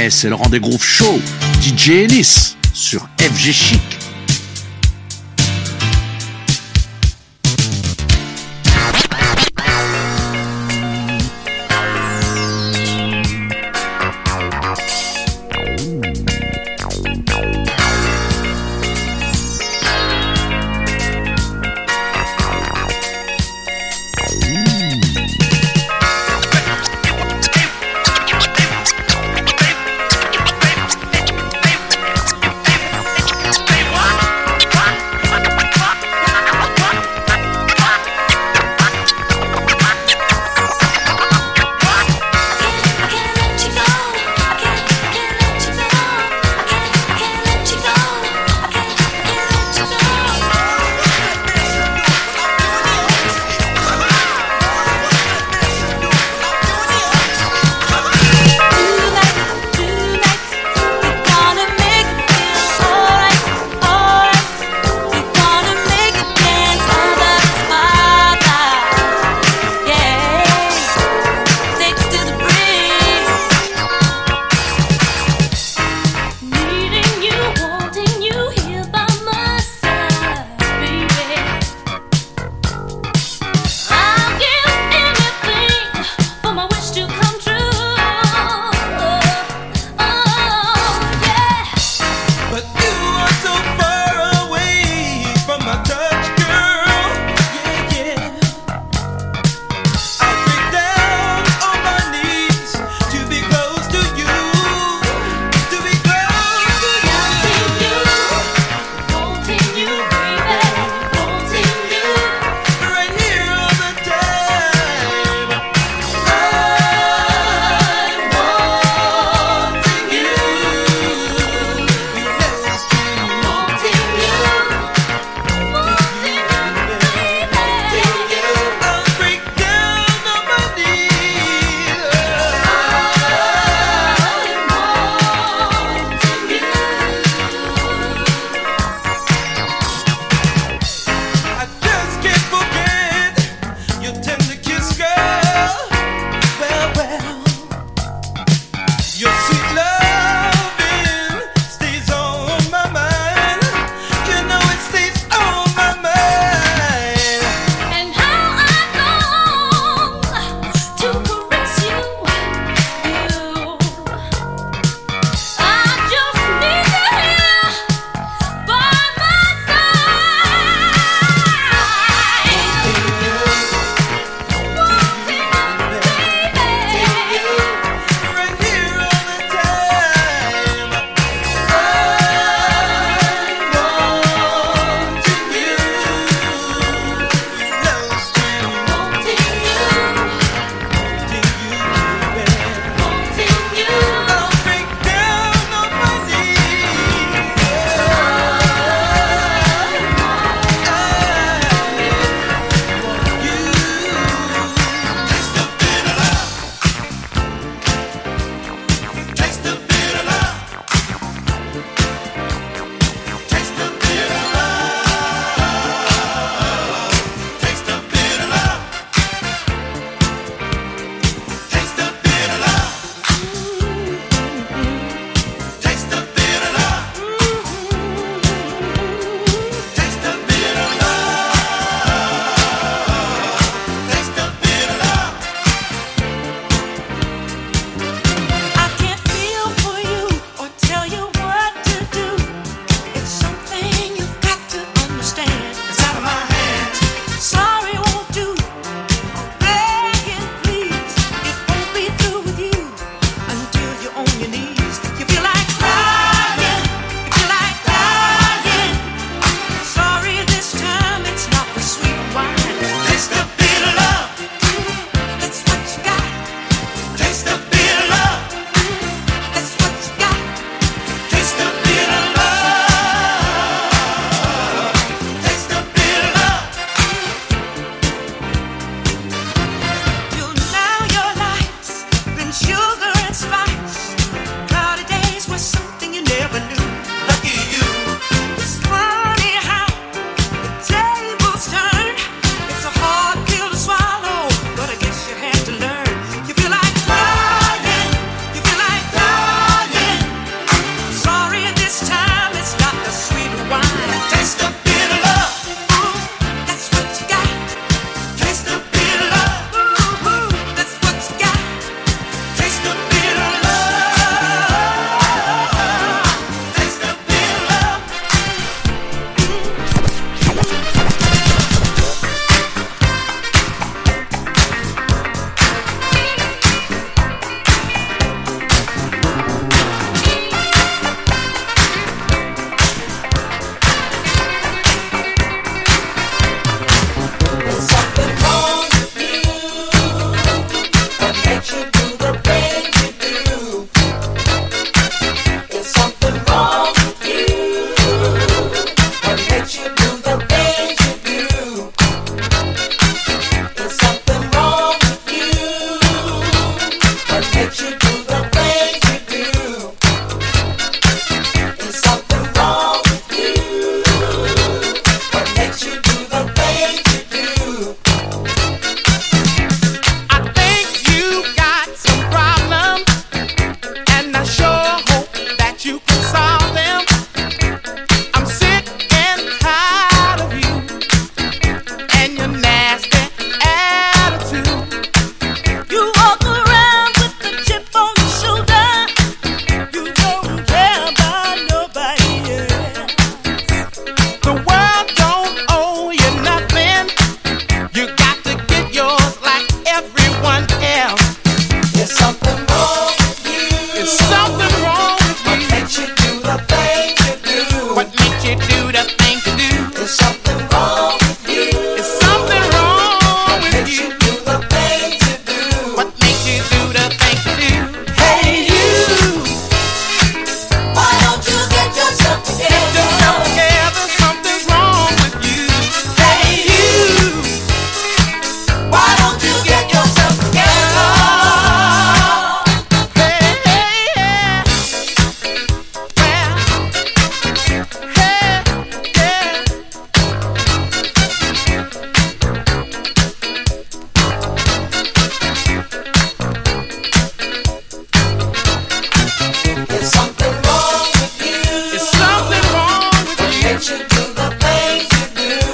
Ouais, c'est le rendez Groove Show, DJ Ellis sur FG Chic. Stay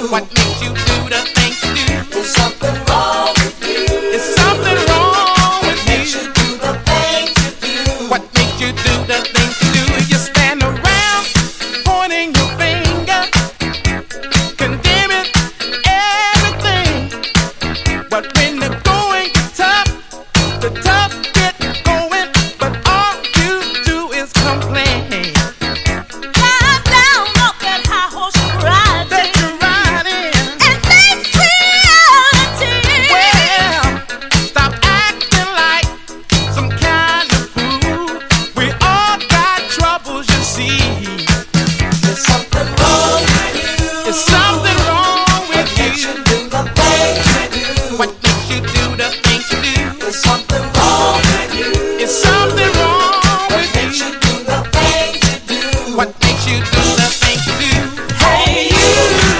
What makes you do the things you do? There's something wrong with you. There's something wrong with you. Makes you do the things you do. What makes you do the things you do? You stand around pointing your finger, condemning everything. But when the going gets tough, the tough get going. But all you do is complain. Climb down off that high horse you're riding. That you're riding. And face reality. Well, stop acting like some kind of fool. We all got troubles, you see. There's something wrong with you. There's something wrong with Makes you. you do the things you do. What makes you do the things you do? There's something wrong with you. It's something wrong What with makes you you. do the things you do? What makes you do the things you do? Hey you,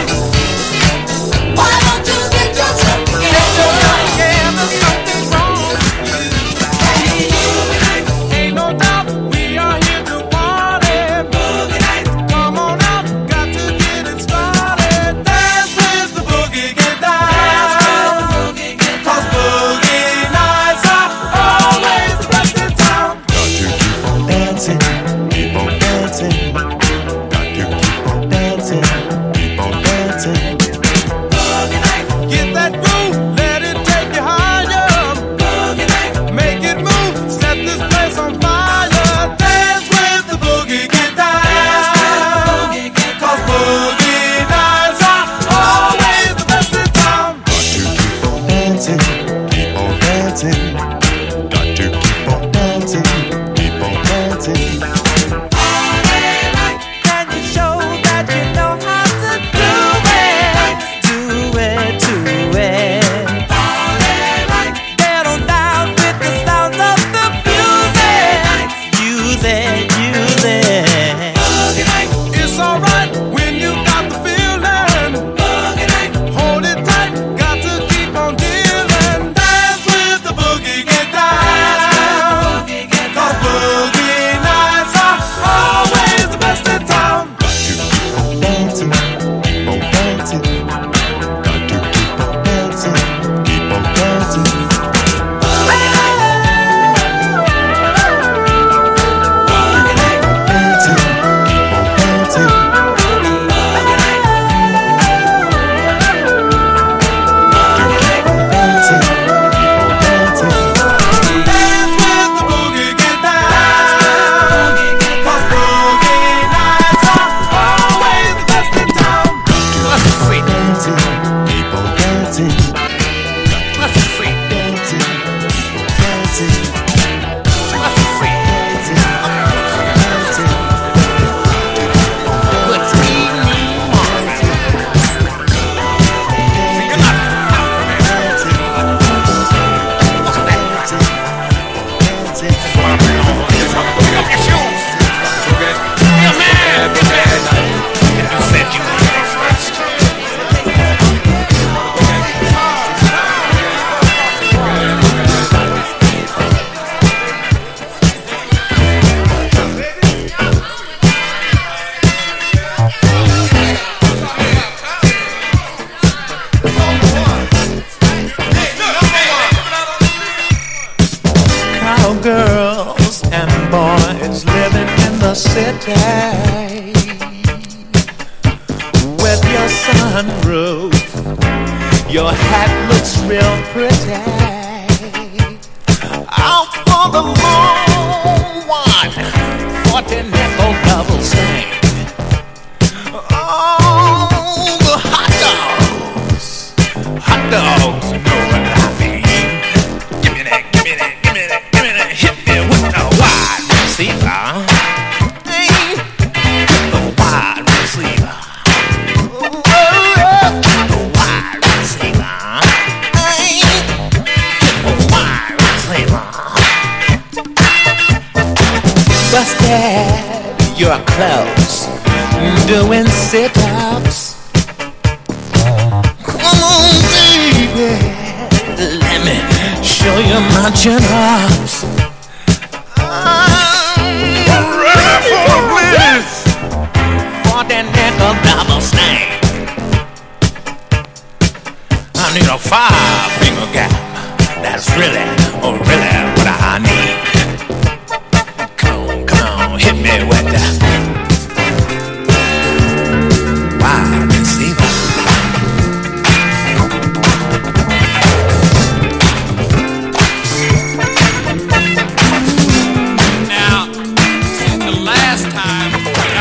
why don't you get yourself together? Yeah, there's something wrong with you. Hey you, Ain't no doubt we are here to party. Come on out, got to get it started. Dance with the boogie, get down. 'Cause boogie nights are always the best in town. Dancing, keep on dancing. Got to keep on dancing, keep on dancing. Get that groove, let it take you higher. Make it move, set this place on fire. Dance with the boogie, get down. 'Cause boogie nights are always the best in town. Dancing, keep on dancing. Got to keep on dancing, keep on dancing. Can you show that you know how to do it? Do it, do it. Get on down with the sounds of the music. Use it, use it. It's alright when you got the feeling. Hold it tight, got to keep on dealing. Dance with the boogie, get down. 'Cause boogie nights are always the best in town. Dancing, keep on dancing. Got to keep on dancing, keep on dancing. Dancing, keep on dancing. Keep on dancing, keep on dancing. Dance with the boogie, get down. 'Cause boogie nights are always the best in town. Dancing, keep on dancing. Dancing, keep on dancing. Dancing, Cowgirls and boys living in the city with your sunroof. Your hat looks real pretty. Out for the long one, 40 nickel double stack. Oh, the hot dogs, you know what I mean. Give me that, give me that, give me that, give me that. Hit me with the wide receiver. Hey, the wide receiver. The wide receiver. Hey, the wide receiver. Busted your clothes, doing sit-ups. Come on, baby, let me show you my chin-ups. I'm ready for this. For the nickel double snake. I need a 5-finger gap. That's really, oh really what I need. Come on, hit me with that. Wow, receiver. Now, since the last time,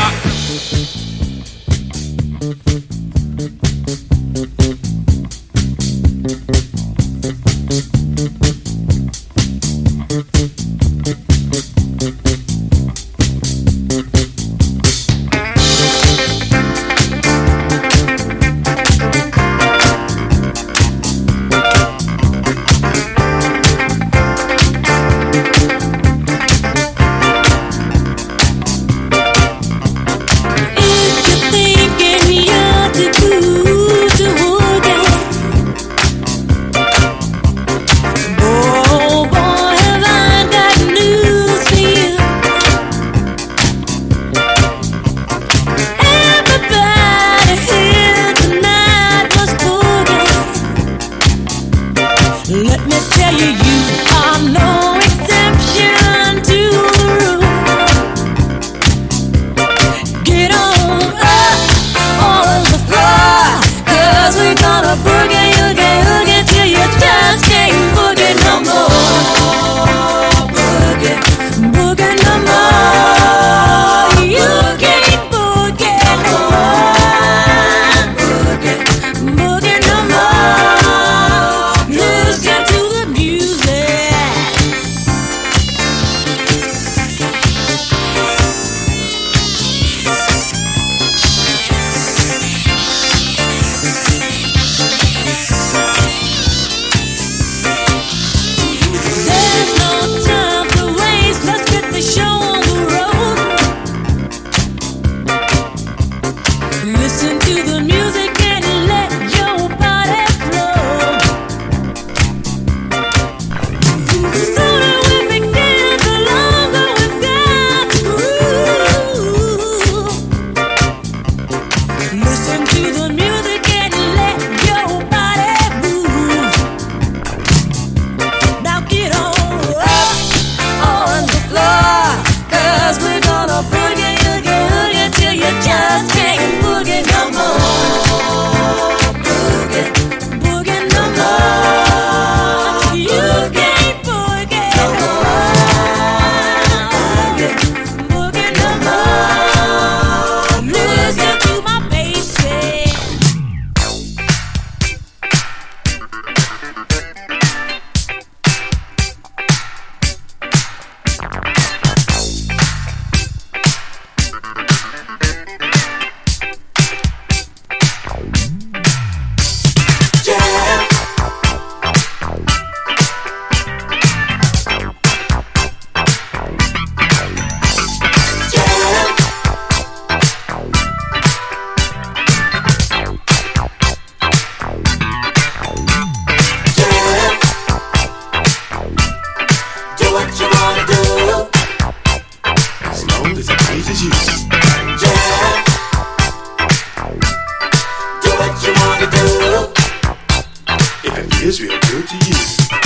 is real good to you.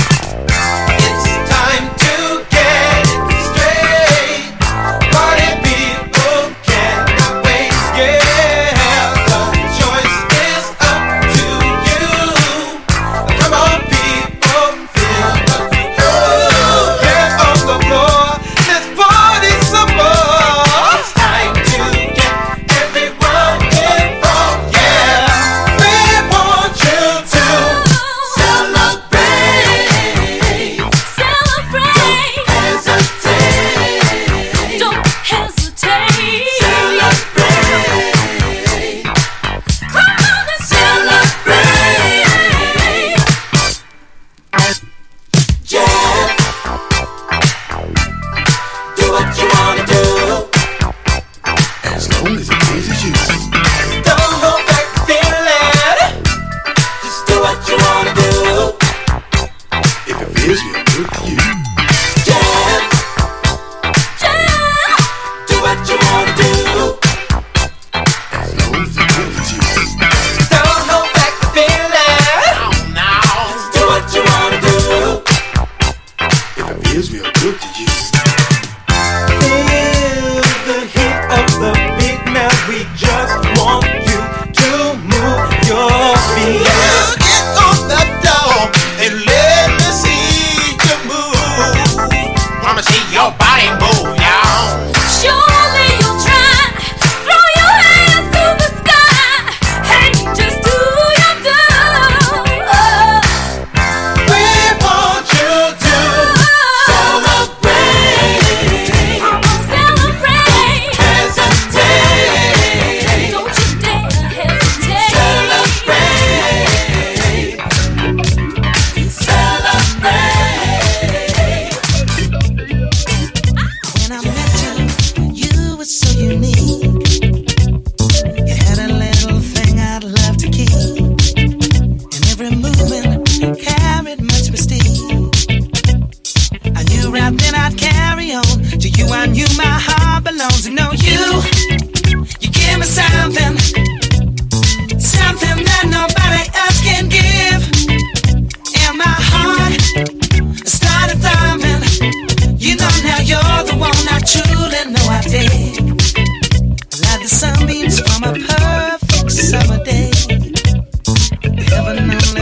It's time to get straight. Party people cannot wait. Yeah, the choice is up to you. Come on, people, feel the groove. Get on the floor, let's party some more. It's time to get everyone involved. Yeah, we want you to celebrate.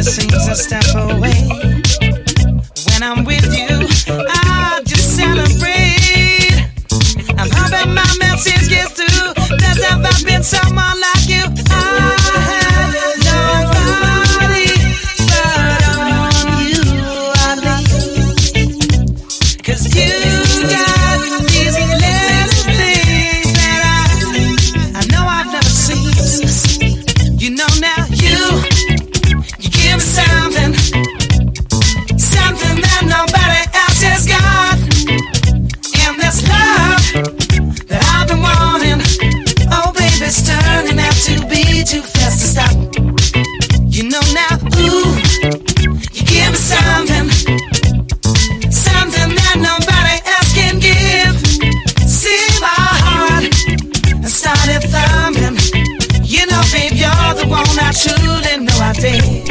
seems a step away. When I'm with you, I just celebrate. I'm hoping my message gets through. There's never been someone like you. I have nobody but on you, I lean. 'Cause you got these little things that I know I've never seen. You know now you give me something that nobody else has got. And this love that I've been wanting, oh baby, it's turning out to be too fast to stop. You know now, ooh, you give me something that nobody else can give. See my heart and started thumping. You know, babe, you're the one I truly know I dig.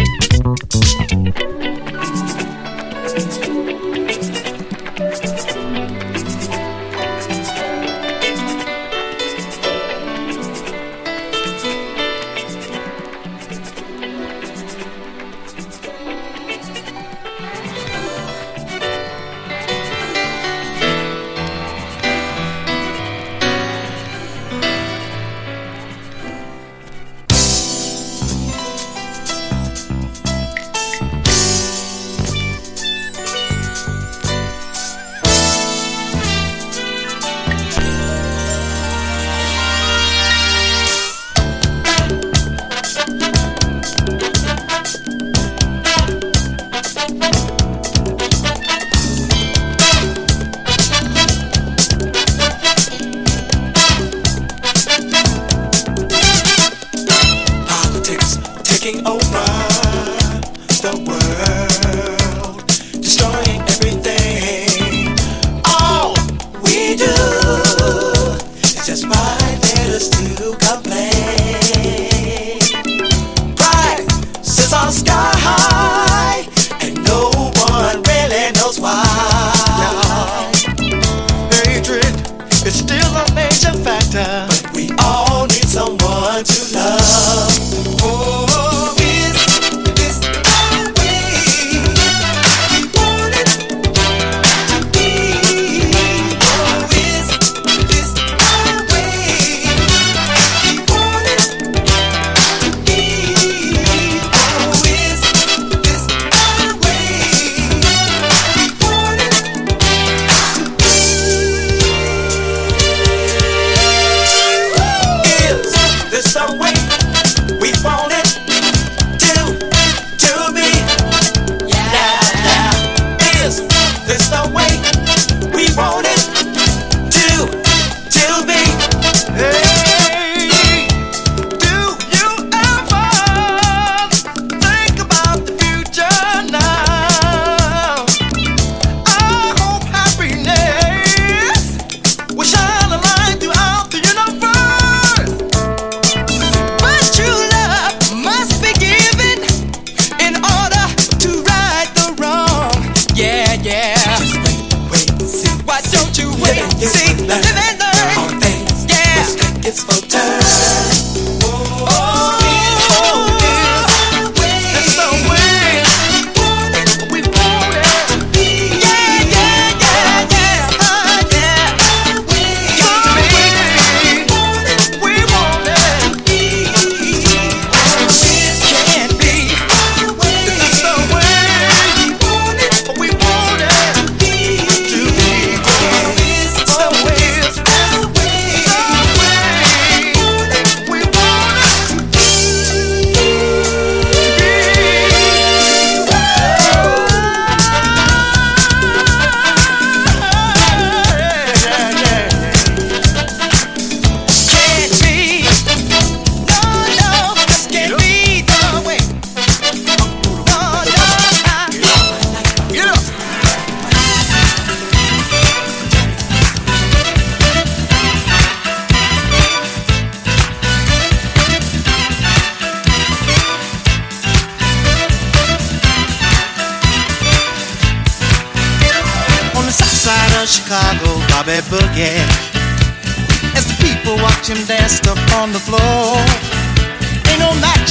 Chicago Bobby Boogie. As the people watch him dance up on the floor, ain't no match if you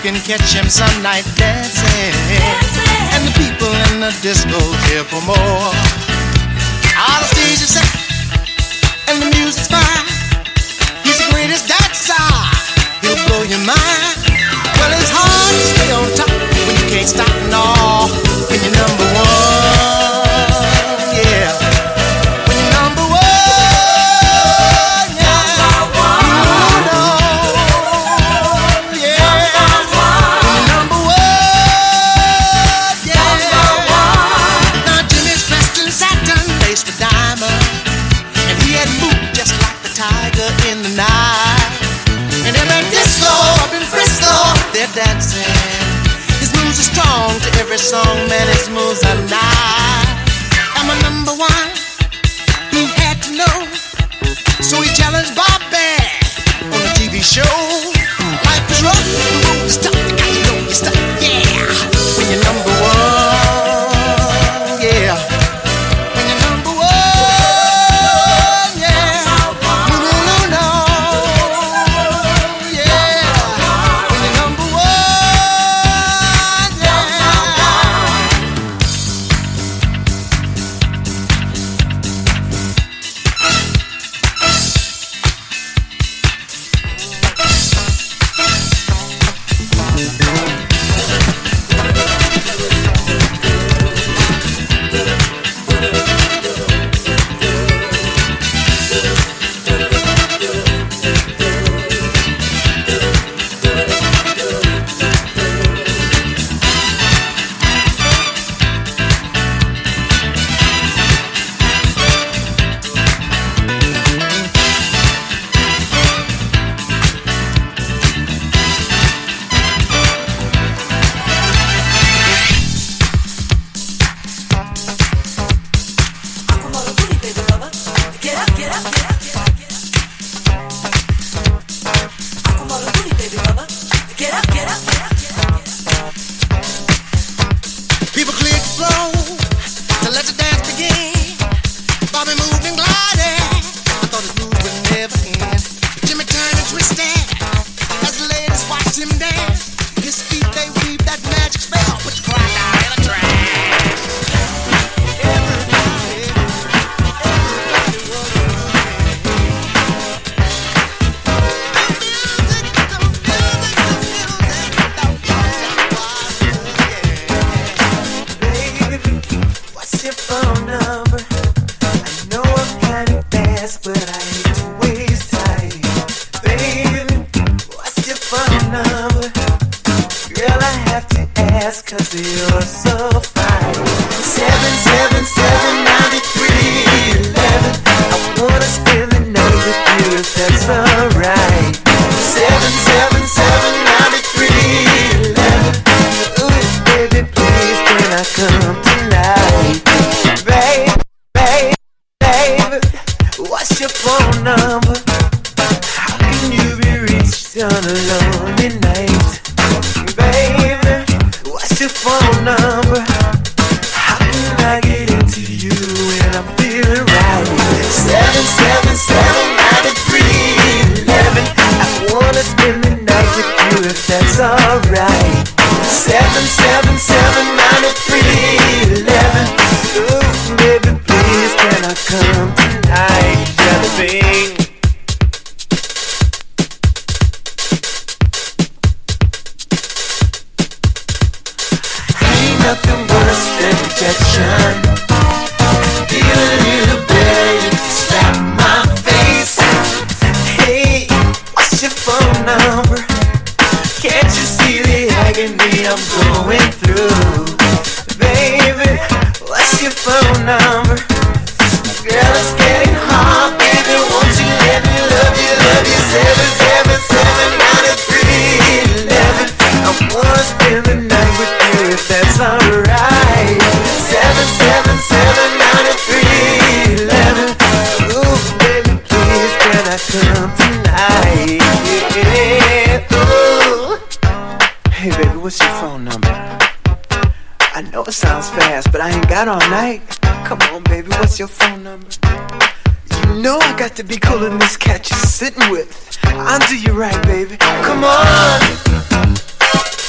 can catch him some night dancing. And the people in the disco here for more. All the stage is set and the music's fine. He's the greatest dancer, he'll blow your mind. Well, it's hard to stay on top when you can't stop no. When you're number one, yeah. When you're number one, yeah. Number one, yeah. When you're number one, yeah. Now Jimmy's dressed in satin, laced with diamond, and he had moved just like the tiger in the night. And every disco up in Frisco, they're dancing. His moves are strong to every song, man, his moves are nice. I'm a number one, he had to know. So he challenged Bobby on a TV show. Life is rough, the road is tough, you got to know your stuff, yeah. When you're number one, yeah. When you're number one, yeah. No, no, no, no. People cleared the floor to let the dance begin. Bobby moved and glided. I thought his moves would never end. Jimmy turned and twisted as the ladies watched him dance. His feet, they weave that magic spell. Put your cry down in a trance. What's your phone number? I know I'm kinda fast, but I hate to waste time. Baby, what's your phone number? Girl, I have to ask, cause you're so fine. 777-9311. I wanna spend the night with you if that's alright. 777-9311. Ooh, baby, please, can I come tonight? Baby, what's your phone number? How can you be reached on a lonely night? Baby, what's your phone number? How can I get into you when I'm feeling right? 777-9311. I wanna spend the night with you if that's alright. 777-9311. Ooh, baby, please, can I come tonight? Jellybean. Ain't nothing worse than rejection. Feel a little better if you slap my face. Hey, what's your phone number? Can't you see the agony I'm going through? Baby, what's your phone number? Girl, it's getting hard, baby, won't you let me love you, love you? 777-9311. I wanna spend the night with you if that's alright. 777-9311. Ooh, baby, please, can I come tonight? Yeah, ooh. Hey, baby, what's your phone number? I know it sounds fast, but I ain't got all night. Come on, baby, what's your phone number? You know I got to be cooler than this cat you're sitting with. I'll do you right, baby. Come on.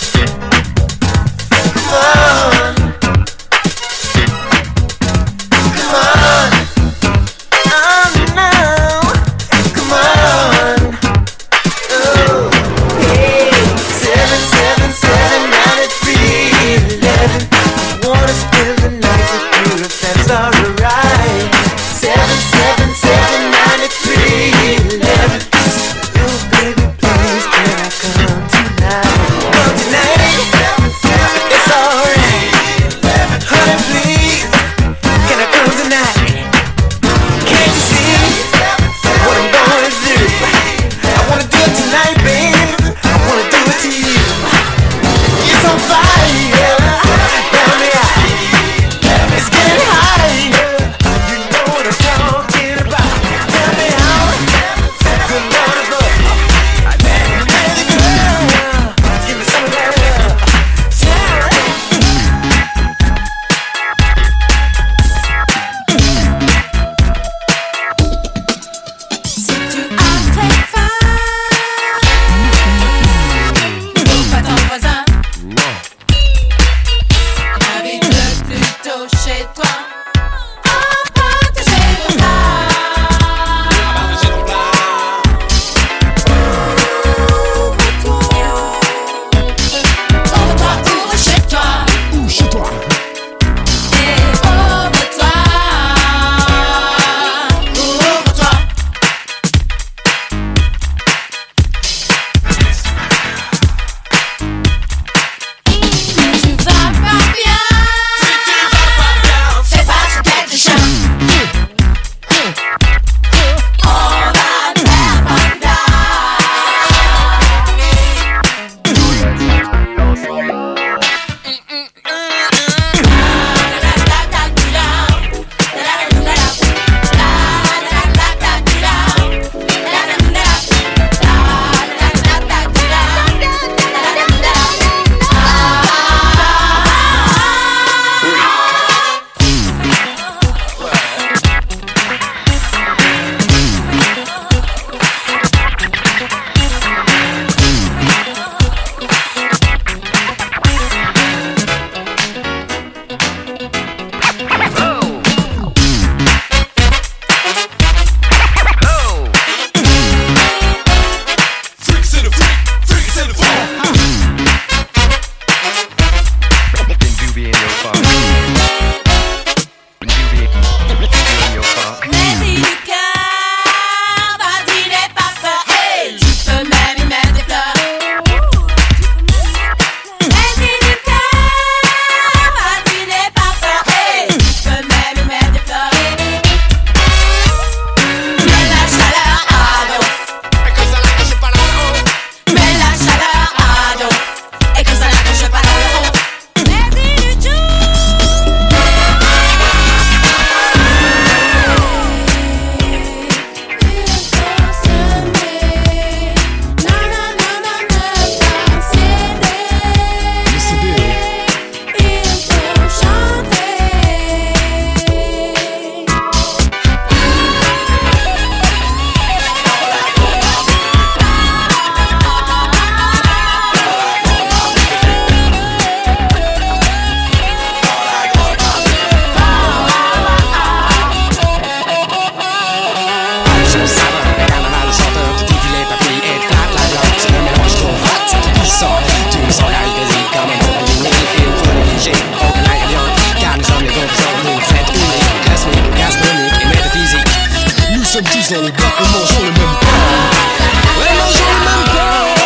les blancs, et mangeons le même pain. Ouais, mangeons le même pain.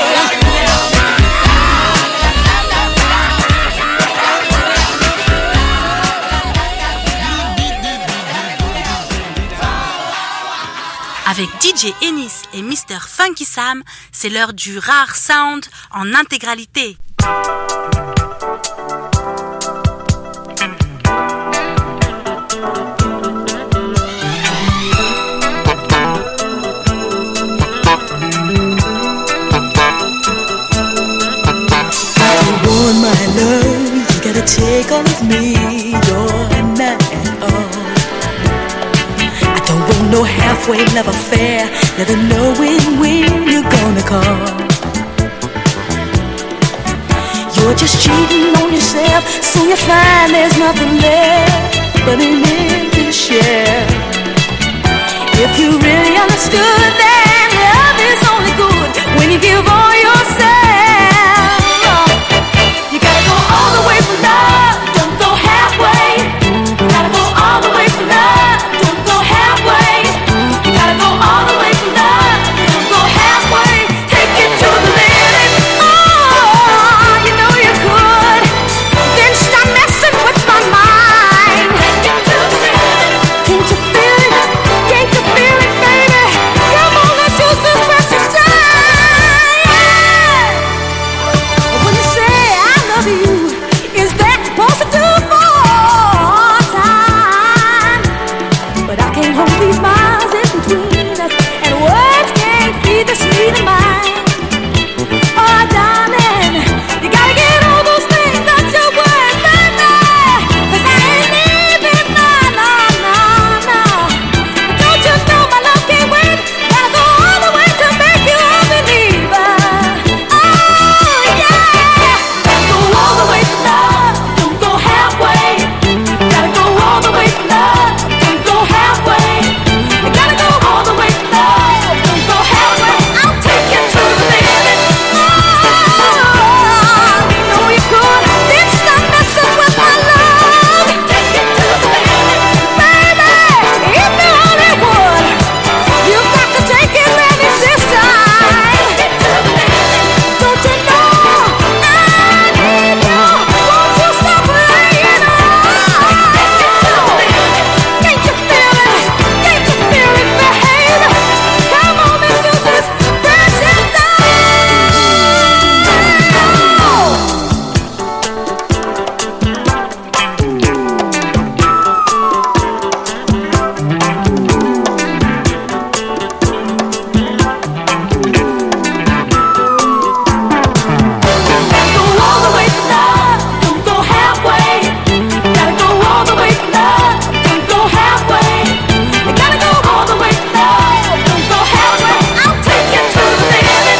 Avec DJ Ennis et Mr. Funky Sam, c'est l'heure du rare sound en intégralité. My love, you gotta take all of me, you're not at all. I don't want no halfway love affair, never knowing when you're gonna call. You're just cheating on yourself, so you find there's nothing left but an empty shell. If you really understood that love is only good when you give all yourself. You gotta go all the way for love, don't go halfway. You gotta go all the way for love, don't go halfway. You gotta go all the way for love, don't go halfway. Take it to the limit. Oh, you know you could. Then stop messing with my mind. Take it to the limit. Can't you feel it? Can't you feel it, baby? Come on, let's use this precious time. When you say I love you, is that supposed to do for time? But I can't hold these miles in between us, and words can't feed the sweet of mine. Oh, darling, you gotta get all those things out your words, baby. 'Cause I ain't leaving, no. Don't you know my love can't wait? Gotta go all the way to make you a believer. Oh, yeah. Gotta go all the way for love, don't go halfway. Gotta go all the way for love, don't go halfway. You gotta go all the way for love, don't go halfway. I'll take you to the limit. Oh, you know you could. Then stop messing with my love. Take it to the limit, baby. If you only would, you got to take it, baby, this time. Take it to the limit. Don't you know I need you? Won't you stop playing on? Can't you feel it? Can't you feel it, babe? Come on, let's use this precious time. Gotta go all the way for love, don't go halfway. Gotta go all the way for love, don't go halfway. You gotta go all the way for love, don't go halfway. I'll take you to the limit.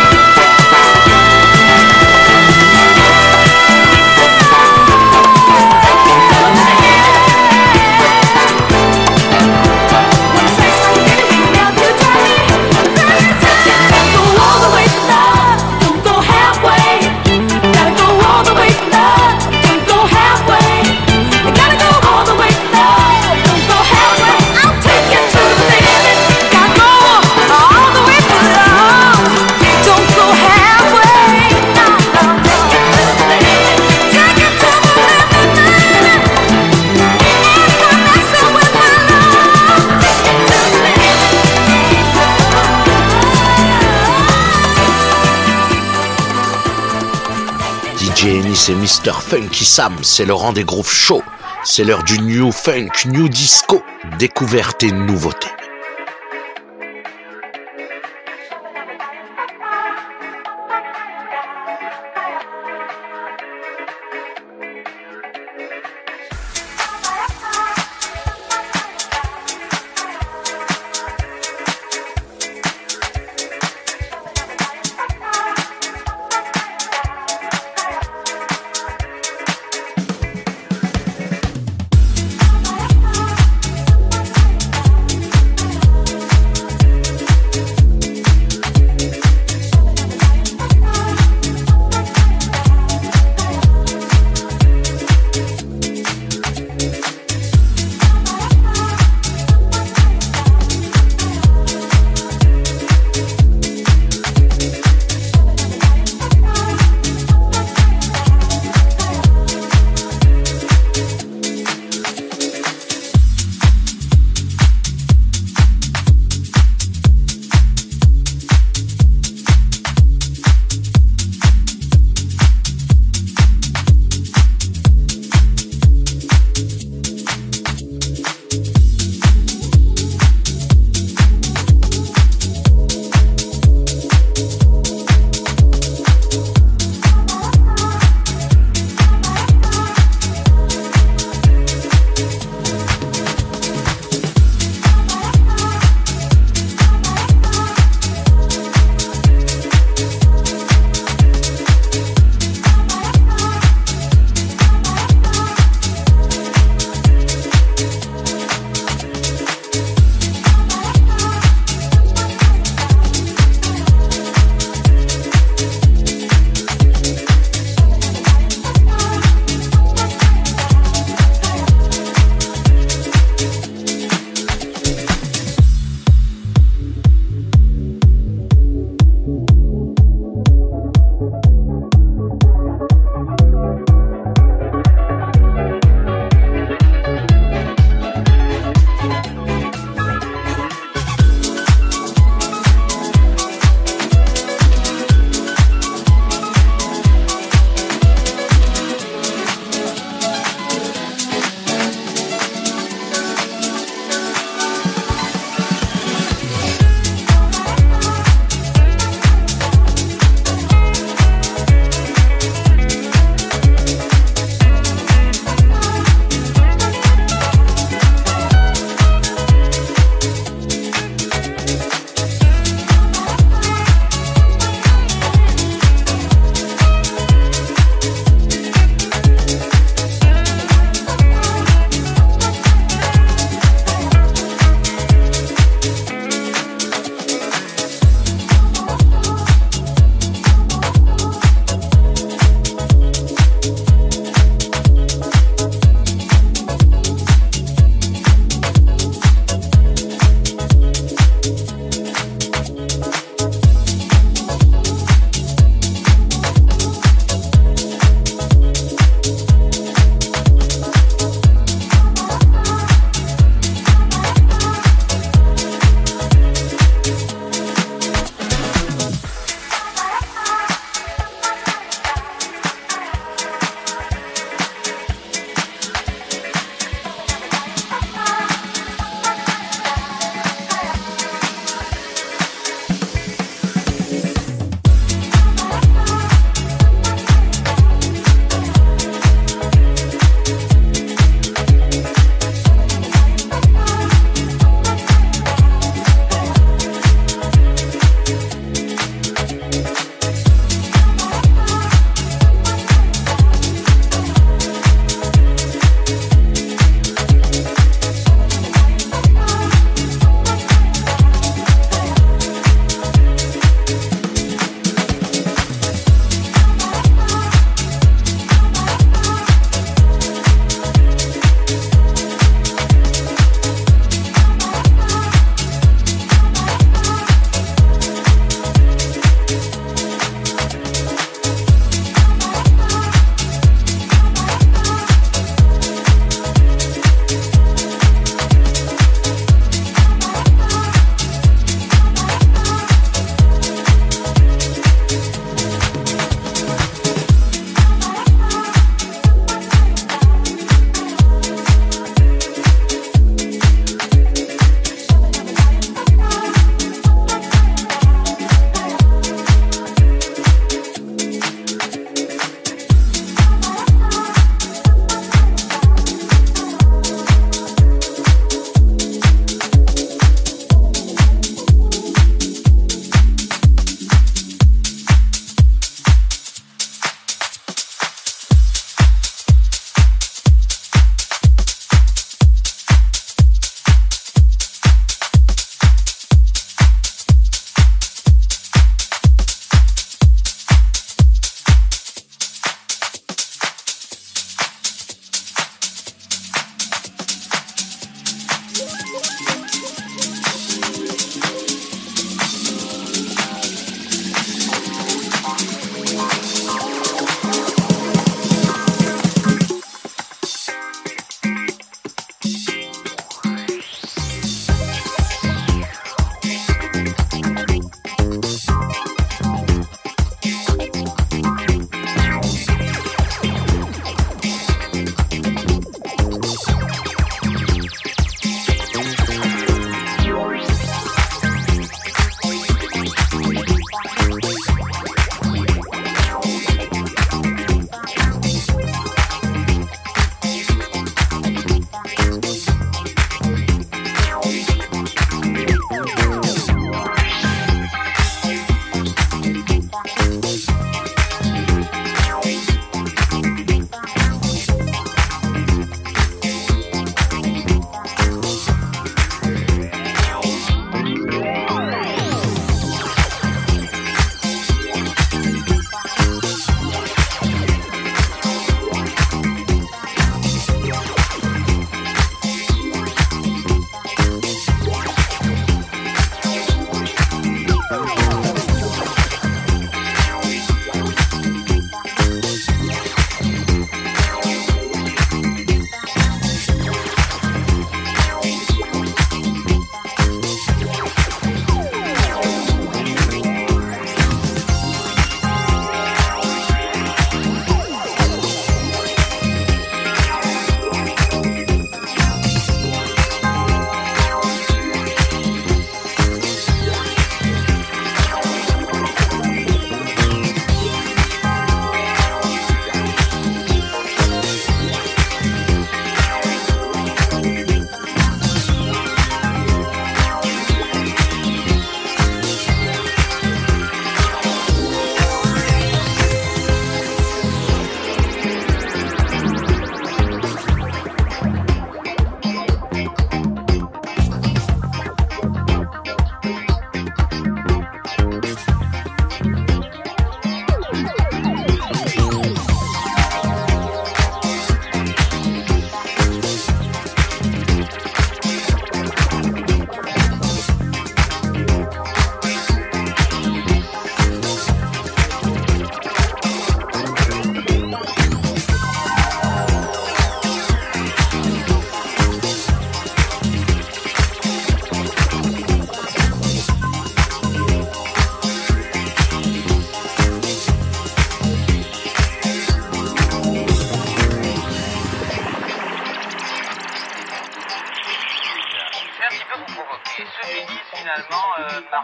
When you say something, baby, now you drive me crazy. Gotta go all the way for love, don't go halfway. Gotta go all the way for love, don't go halfway. You gotta go all the way for love, don't go halfway. I'll take you to the limit. Gotta go all the way for love, don't go halfway. No. Take it to the limit. Take it to the limit, baby. Stop messing with my love. Take it to the limit. DJ Ennis et Mr. Funky Sam, c'est le rang des grooves chauds. C'est l'heure du new funk, new disco, découverte et nouveauté.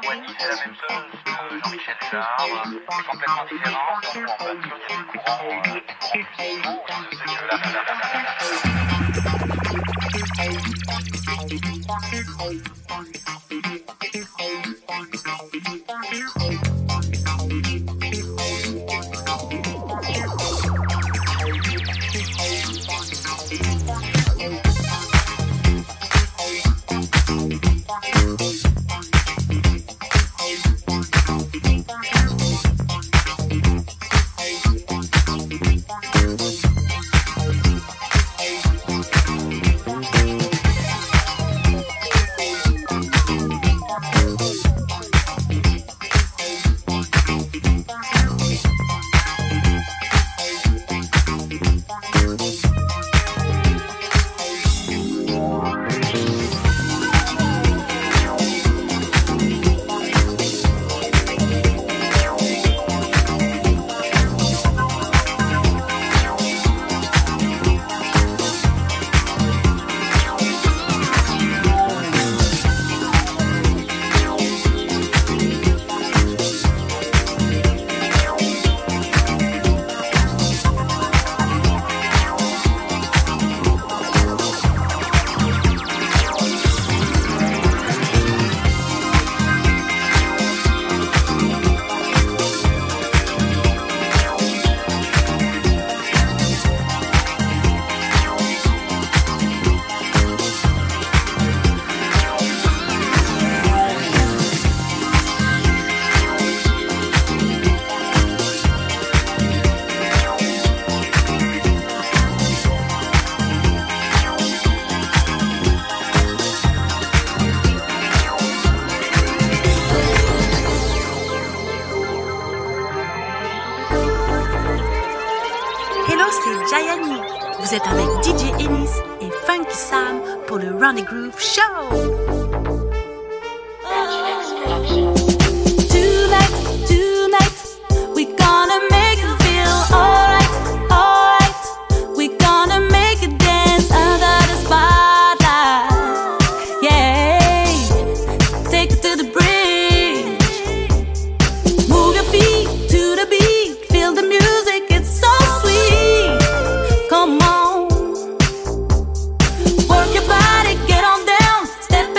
Wally fait la même chose que Jean-Michel Jarre, c'est complètement différent, donc on va dire qu'il y a des courants musicaux dans ce Vous êtes avec DJ Ennis et Funky Sam pour le Run the Groove Show. Work your body, get on down, step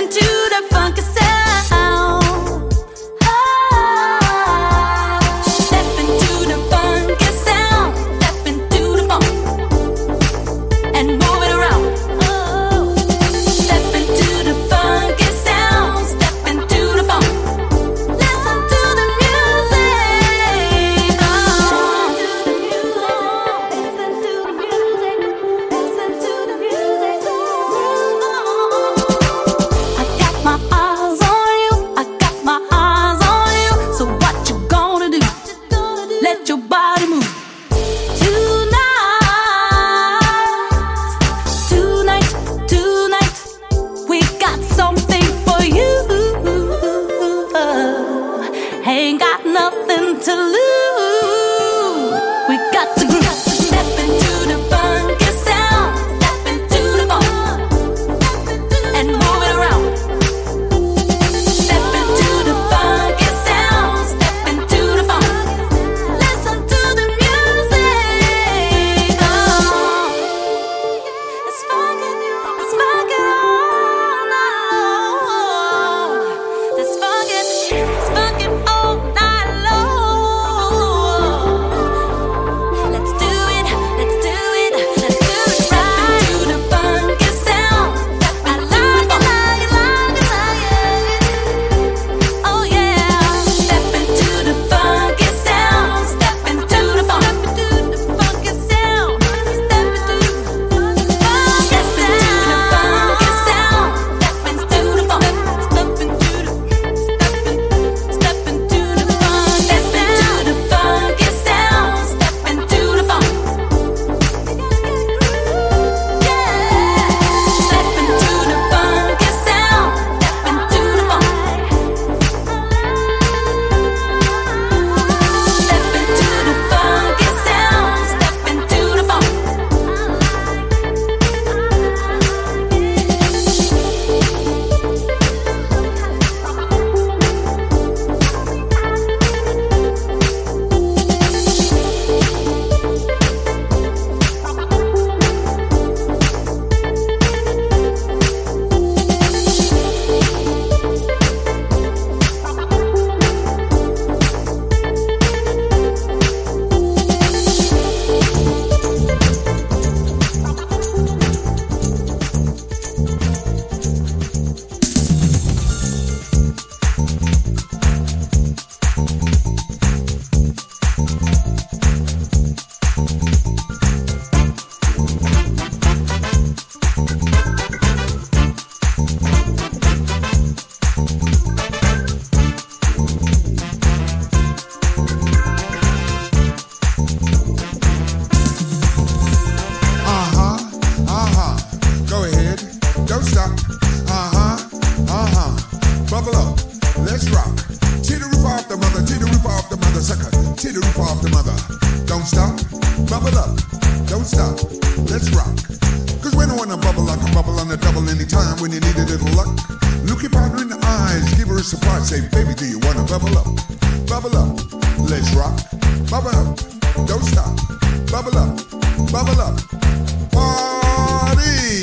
bubble up, don't stop, let's rock. Cause when I wanna bubble, I can bubble on the double anytime when you need a little luck. Look your partner in the eyes, give her a surprise, say, baby, do you wanna bubble up? Bubble up, let's rock. Bubble up, don't stop, bubble up, bubble up. Party!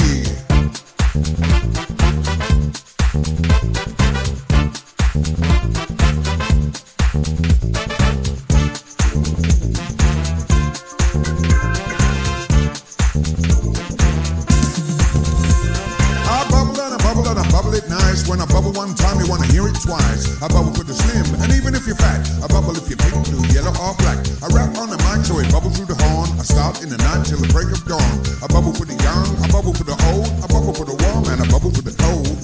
When I bubble one time, you wanna hear it twice. I bubble for the slim, and even if you're fat. I bubble if you're pink, blue, yellow, or black. I rap on the mic so it bubbles through the horn. I start in the night till the break of dawn. I bubble for the young, I bubble for the old. I bubble for the warm, and I bubble for the cold.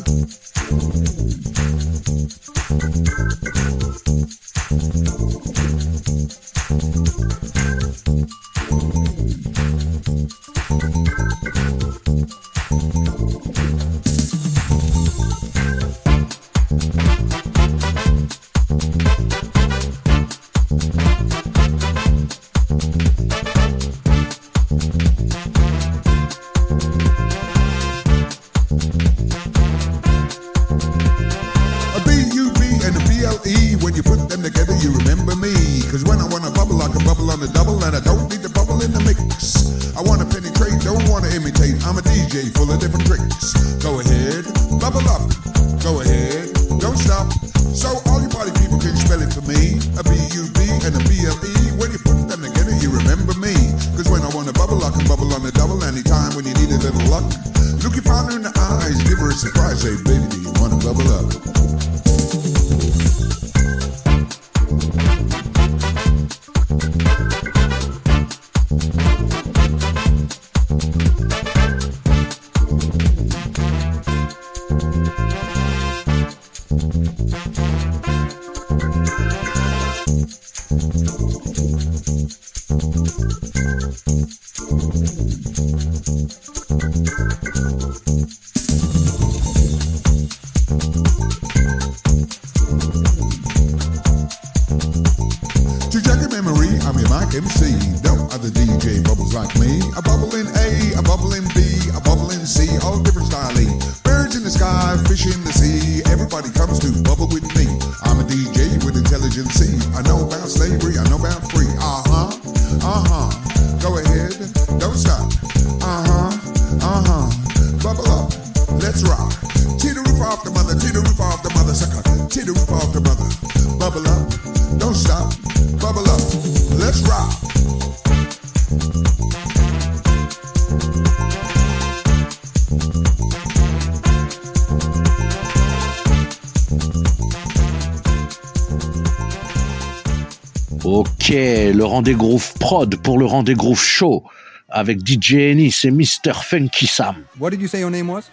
Ok, le Rendez Groove Prod pour le Rendez Groove Show avec DJ Ennis et Mr. Funky Sam. What did you say your name was?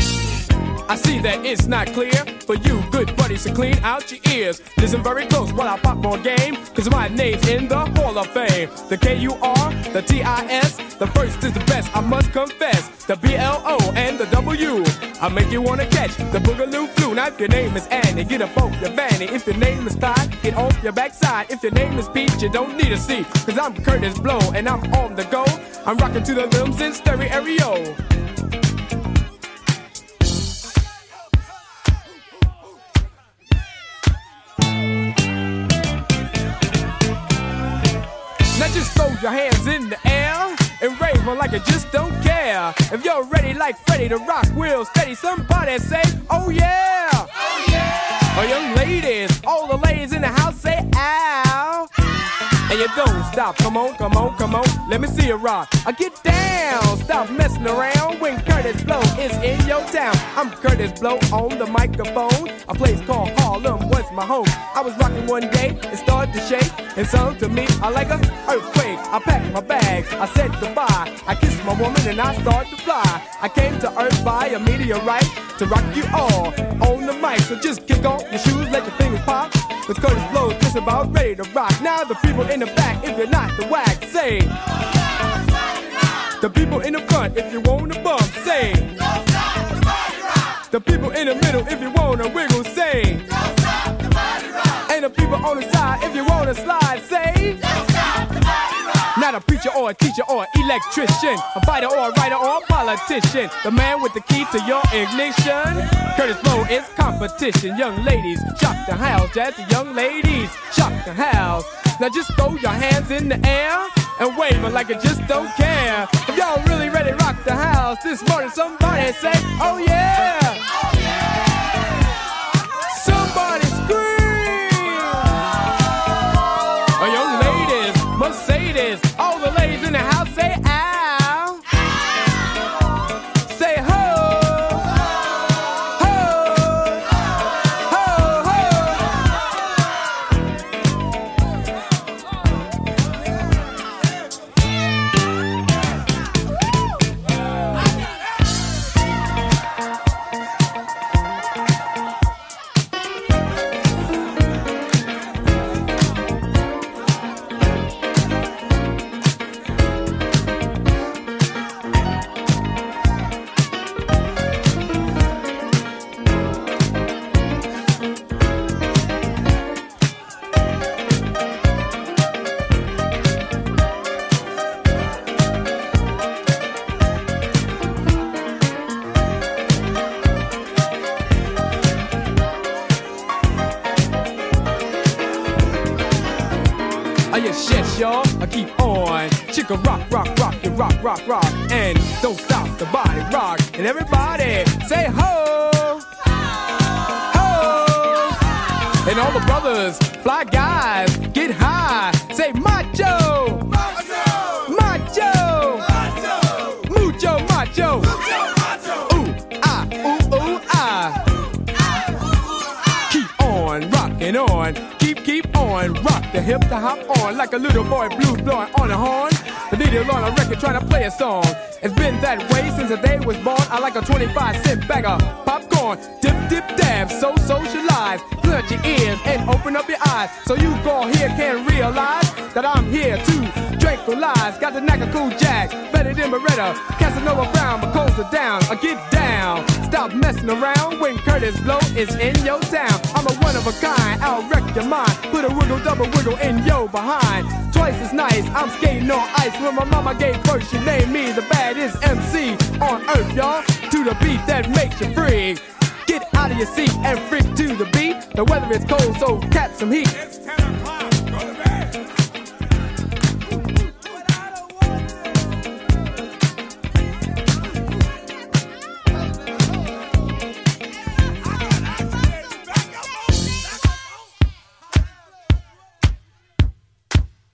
I see that it's not clear for you good buddies to clean out your ears. Listen very close while I pop more game, cause my name's in the Hall of Fame. The K-U-R, the T-I-S, the first is the best, I must confess. The B-L-O and the W, I make you wanna catch the Boogaloo flu. Now if your name is Annie, get up off your fanny. If your name is Todd, get off your backside. If your name is Pete, you don't need a seat, cause I'm Curtis Blow and I'm on the go. I'm rocking to the rhythms in stereo. Now just throw your hands in the air and rave on like you just don't care. If you're ready like Freddie to rock real steady, somebody say, oh yeah! Oh yeah! Oh young ladies, all the ladies in the house say, ow! And you don't stop, come on, come on, come on, let me see you rock. I get down, stop messing around when Curtis Blow is in your town. I'm Curtis Blow on the microphone. A place called Harlem was my home. I was rocking one day, it started to shake, and sung to me I like an earthquake. I packed my bags, I said goodbye. I kissed my woman and I started to fly. I came to Earth by a meteorite to rock you all on the mic. So just kick off your shoes, let your fingers pop. Cause Curtis Blow's just about ready to rock. Now the people in the back, if you're not the whack, say. The people in the front, if you wanna bump, say. The people in the middle, if you wanna wiggle, say. And the people on the side, if you wanna slide, say. Now the a preacher or a teacher or an electrician, a fighter or a writer or a politician, the man with the key to your ignition. Curtis Blow is competition. Young ladies, shock the house. Jazzy young ladies, shock the house. Now just throw your hands in the air and wave it like you just don't care. If y'all really ready to rock the house this morning, somebody say, oh yeah! Oh yeah! Somebody scream! Oh, young ladies, Mercedes, all the ladies in the house say ow! Say ho! Ho! Ho! Ho! Yes, y'all, I keep on. Chicka rock, rock, rock, and rock, rock, rock. And don't stop the body rock. And everybody say ho! Ho! And all the brothers, fly guys, get high. Say macho! Macho! Macho! Macho! Mucho macho! Mucho macho! Ooh, ah, ooh, ooh, ah. Keep on rocking on. Keep on, rock the hip, the hop on, like a little boy blue blowing on a horn. The needle on a record trying to play a song. It's been that way since the day was born. I like a 25-cent bag of popcorn. Dip, dip, dab, so socialize. Clear your ears and open up your eyes, so you go here can realize that I'm here to tranquilize. Got the knack of cool jack, better than Beretta, Casanova Brown, but coals are down. I get down, stop messing around when Curtis Blow is in your town. I'm a one of a kind, I'll wreck your mind. Put a wiggle, double wiggle in your behind. Twice as nice, I'm skating on ice. When my mama gave birth, she named me the baddest MC on earth, y'all. To the beat that makes you free. Get out of your seat and freak to the beat. The weather is cold, so catch some heat.